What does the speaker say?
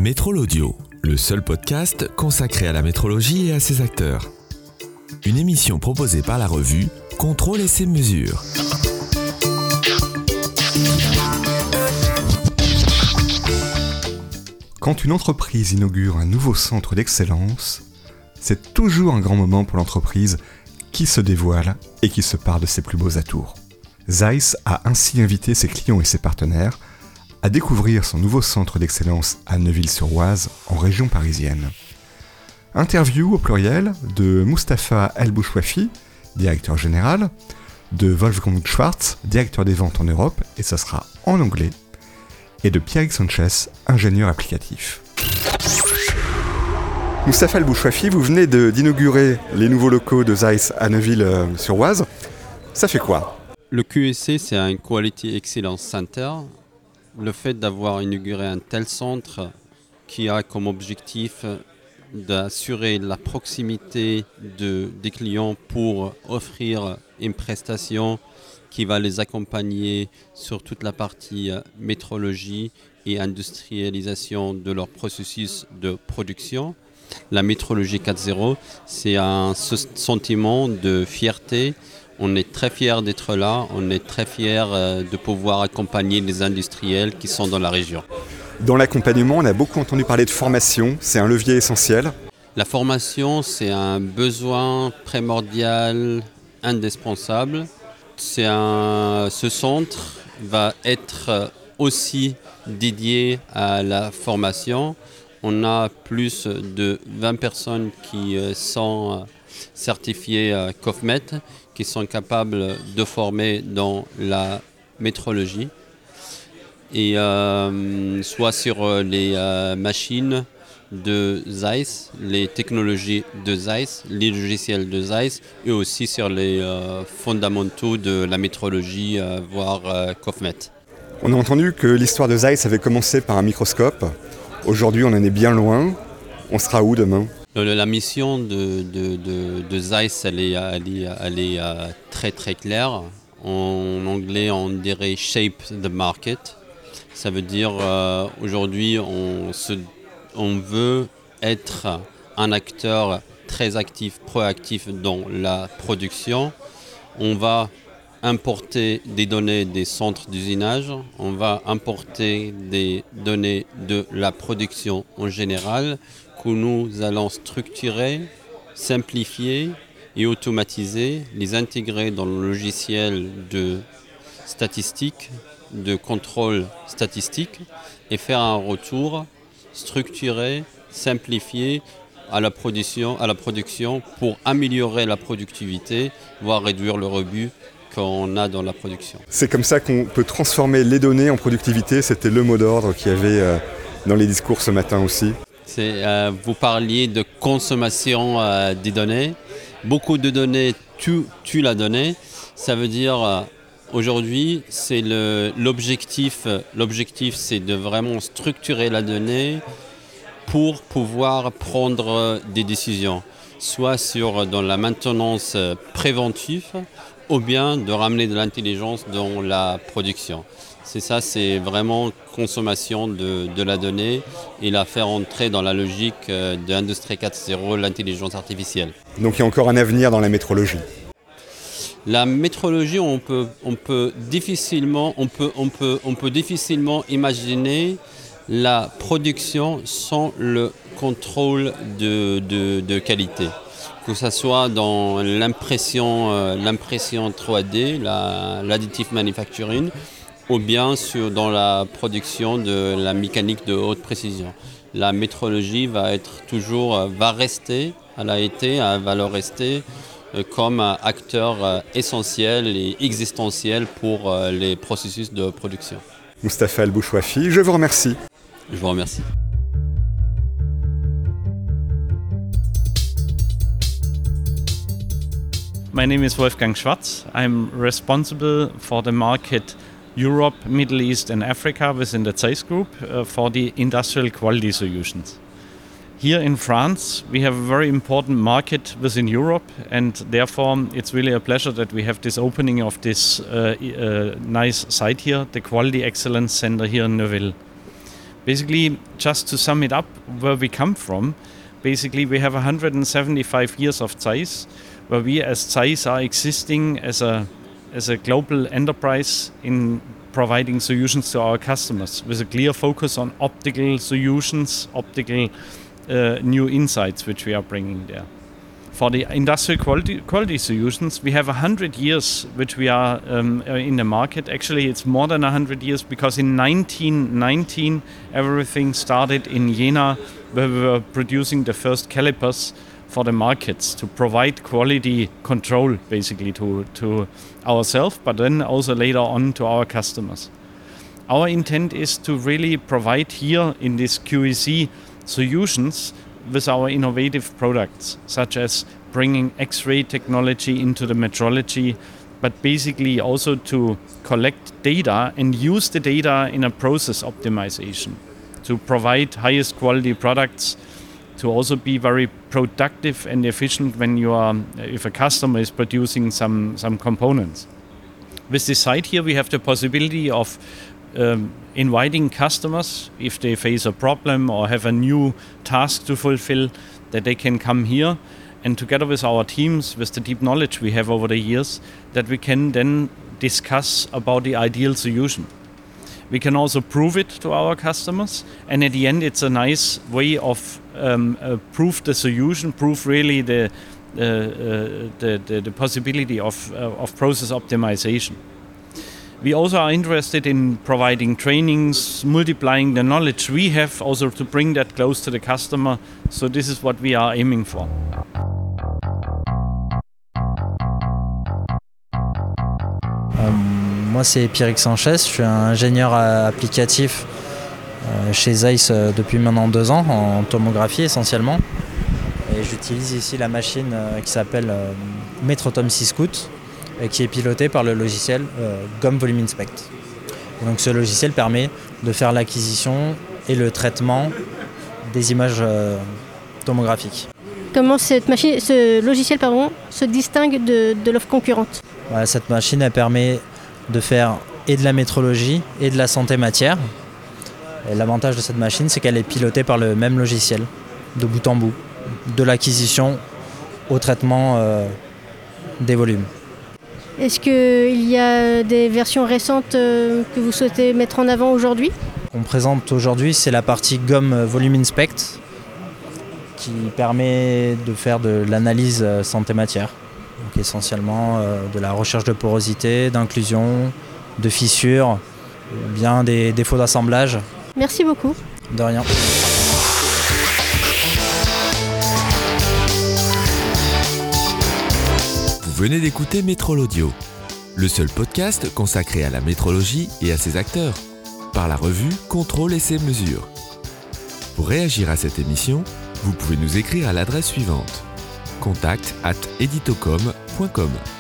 Métrol Audio, le seul podcast consacré à la métrologie et à ses acteurs. Une émission proposée par la revue Contrôle Essais Mesures. Quand une entreprise inaugure un nouveau centre d'excellence, c'est toujours un grand moment pour l'entreprise qui se dévoile et qui se parle de ses plus beaux atours. Zeiss a ainsi invité ses clients et ses partenaires à découvrir son nouveau centre d'excellence à Neuville-sur-Oise, en région parisienne. Interview au pluriel de Mustapha El Bouchouafi, directeur général, de Wolfgang Schwartz, directeur des ventes en Europe, et ça sera en anglais, et de Pierre Sanchez, ingénieur applicatif. Mustapha El Bouchouafi, vous venez d'inaugurer les nouveaux locaux de Zeiss à Neuville-sur-Oise. Ça fait quoi ? Le QEC, c'est un Quality Excellence Center. Le fait d'avoir inauguré un tel centre qui a comme objectif d'assurer la proximité des clients pour offrir une prestation qui va les accompagner sur toute la partie métrologie et industrialisation de leur processus de production. La métrologie 4.0, c'est un sentiment de fierté. On est très fiers d'être là, on est très fiers de pouvoir accompagner les industriels qui sont dans la région. Dans l'accompagnement, on a beaucoup entendu parler de formation, c'est un levier essentiel. La formation, c'est un besoin primordial, indispensable. Ce centre va être aussi dédié à la formation. On a plus de 20 personnes qui sont certifiées COFMET, qui sont capables de former dans la métrologie, et soit sur les machines de Zeiss, les technologies de Zeiss, les logiciels de Zeiss, et aussi sur les fondamentaux de la métrologie, voire COFMET. On a entendu que l'histoire de Zeiss avait commencé par un microscope. Aujourd'hui, on en est bien loin. On sera où demain ? La mission de Zeiss, elle est très très claire. En anglais, on dirait « shape the market ». Ça veut dire aujourd'hui, on veut être un acteur très actif, proactif dans la production. On va importer des données des centres d'usinage, on va importer des données de la production en général, que nous allons structurer, simplifier et automatiser, les intégrer dans le logiciel de statistique, de contrôle statistique, et faire un retour structuré, simplifié à la production pour améliorer la productivité, voire réduire le rebut qu'on a dans la production. C'est comme ça qu'on peut transformer les données en productivité, c'était le mot d'ordre qu'il y avait dans les discours ce matin aussi. Vous parliez de consommation des données. Beaucoup de données tuent la donnée. Ça veut dire aujourd'hui, c'est l'objectif. L'objectif, c'est de vraiment structurer la donnée pour pouvoir prendre des décisions, soit dans la maintenance préventive, ou bien de ramener de l'intelligence dans la production. C'est vraiment consommation de la donnée et la faire entrer dans la logique de l'industrie 4.0, l'intelligence artificielle. Donc il y a encore un avenir dans la métrologie. La métrologie, on peut difficilement imaginer la production sans le contrôle de qualité. Que ce soit dans l'impression 3D, l'additive manufacturing, ou bien dans la production de la mécanique de haute précision. La métrologie va rester comme acteur essentiel et existentiel pour les processus de production. Mustapha El Bouchouafi, je vous remercie. Je vous remercie. My name is Wolfgang Schwartz. I'm responsible for the market Europe, Middle East and Africa within the Zeiss Group for the industrial quality solutions. Here in France, we have a very important market within Europe, and therefore it's really a pleasure that we have this opening of this nice site here, the Quality Excellence Center here in Neuville. Basically, just to sum it up, where we come from, basically we have 175 years of Zeiss, where we as Zeiss are existing as a global enterprise in providing solutions to our customers with a clear focus on optical solutions, optical new insights which we are bringing there. For the industrial quality solutions, we have 100 years which we are in the market. Actually, it's more than 100 years because in 1919 everything started in Jena, where we were producing the first calipers for the markets to provide quality control basically to ourselves, but then also later on to our customers. Our intent is to really provide here in this QEC solutions with our innovative products, such as bringing X-ray technology into the metrology, but basically also to collect data and use the data in a process optimization to provide highest quality products, to also be very productive and efficient when if a customer is producing some components. With this site here, we have the possibility of inviting customers, if they face a problem or have a new task to fulfill, that they can come here, and together with our teams, with the deep knowledge we have over the years, that we can then discuss about the ideal solution. We can also prove it to our customers, and at the end it's a nice way of prove the solution, prove really the possibility of process optimization. We also are interested in providing trainings, multiplying the knowledge we have, also to bring that close to the customer. So this is what we are aiming for. Moi, c'est Pierrick Sanchez, je suis un ingénieur applicatif chez Zeiss depuis maintenant 2 ans, en tomographie essentiellement. Et j'utilise ici la machine qui s'appelle Metrotom 6 Scout, et qui est pilotée par le logiciel GOM Volume Inspect. Et donc ce logiciel permet de faire l'acquisition et le traitement des images tomographiques. Comment ce logiciel se distingue de l'offre concurrente ? Voilà, cette machine elle permet de faire et de la métrologie et de la santé matière. Et l'avantage de cette machine, c'est qu'elle est pilotée par le même logiciel, de bout en bout, de l'acquisition au traitement des volumes. Est-ce qu'il y a des versions récentes que vous souhaitez mettre en avant aujourd'hui ? On présente aujourd'hui, c'est la partie GOM Volume Inspect qui permet de faire de l'analyse santé-matière. Donc essentiellement de la recherche de porosité, d'inclusion, de fissures, ou bien des défauts d'assemblage. Merci beaucoup. De rien. Vous venez d'écouter Métrol Audio, le seul podcast consacré à la métrologie et à ses acteurs, par la revue Contrôle Essais Mesures. Pour réagir à cette émission, vous pouvez nous écrire à l'adresse suivante: contact@editocom.com.